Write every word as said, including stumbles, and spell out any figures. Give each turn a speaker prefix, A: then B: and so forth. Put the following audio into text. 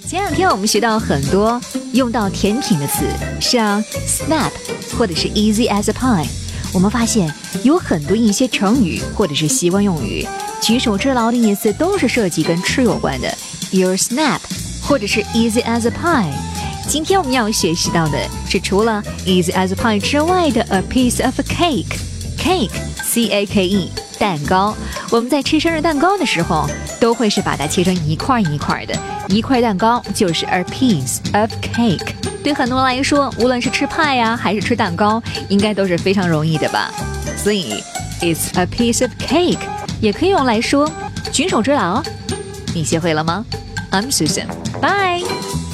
A: 前两天我们学到很多用到甜品的词，像 snap 或者是 easy as a pie。我们发现有很多一些成语或者是习惯用语，举手之劳的意思都是涉及跟吃有关的 ，your snap 或者是 easy as a pie。今天我们要学习到的是除了 easy as a pie 之外的 a piece of cake。cake C A K E 蛋糕，我们在吃生日蛋糕的时候，都会是把它切成一块一块的，一块蛋糕就是 a piece of cake。对很多人来说，无论是吃派呀、啊，还是吃蛋糕，应该都是非常容易的吧。所以 it's a piece of cake 也可以用来说举手之劳。你学会了吗？ I'm Susan， Bye。